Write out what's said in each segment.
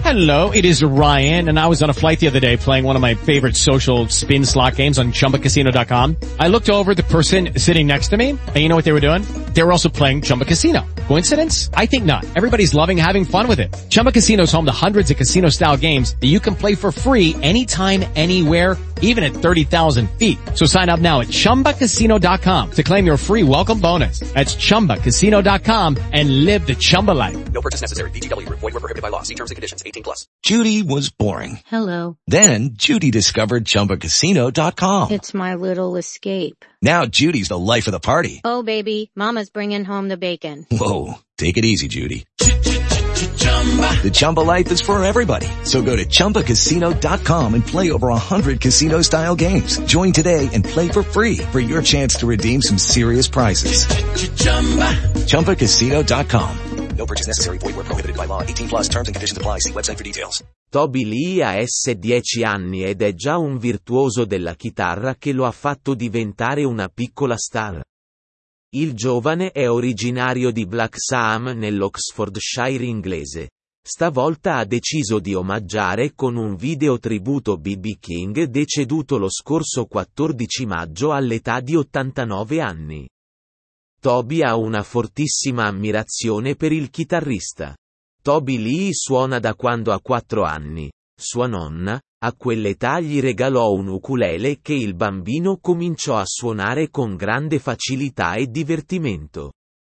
Hello, it is Ryan, and I was on a flight the other day playing one of my favorite social spin slot games on ChumbaCasino.com. I looked over at the person sitting next to me, and you know what they were doing? They were also playing Chumba Casino. Coincidence? I think not. Everybody's loving having fun with it. Chumba Casino is home to hundreds of casino-style games that you can play for free anytime, anywhere, even at 30,000 feet. So sign up now at ChumbaCasino.com to claim your free welcome bonus. That's ChumbaCasino.com and live the Chumba life. No purchase necessary. VGW. Void where prohibited by law. See terms and conditions. 18+. Judy was boring. Hello. Then Judy discovered ChumbaCasino.com. It's my little escape. Now Judy's the life of the party. Oh, baby, mama's bringing home the bacon. Whoa, take it easy, Judy. The Chumba life is for everybody. So go to ChumbaCasino.com and play over 100 casino-style games. Join today and play for free for your chance to redeem some serious prizes. ChumbaCasino.com. No purchase necessary. Void where prohibited by law. 18+. Terms and conditions apply. See website for details. Toby Lee ha 10 anni ed è già un virtuoso della chitarra che lo ha fatto diventare una piccola star. Il giovane è originario di Blacksham nell'Oxfordshire inglese. Stavolta ha deciso di omaggiare con un video tributo B.B. King deceduto lo scorso 14 maggio all'età di 89 anni. Toby ha una fortissima ammirazione per il chitarrista. Toby Lee suona da quando ha 4 anni. Sua nonna, a quell'età gli regalò un ukulele che il bambino cominciò a suonare con grande facilità e divertimento.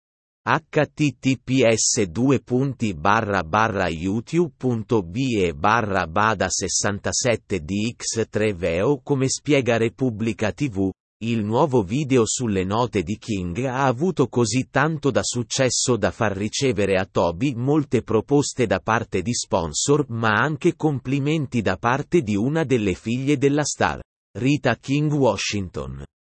https://youtube.be/bada67dx3veo. Come spiega Repubblica TV, il nuovo video sulle note di King ha avuto così tanto da successo da far ricevere a Toby molte proposte da parte di sponsor ma anche complimenti da parte di una delle figlie della star, Rita King Washington.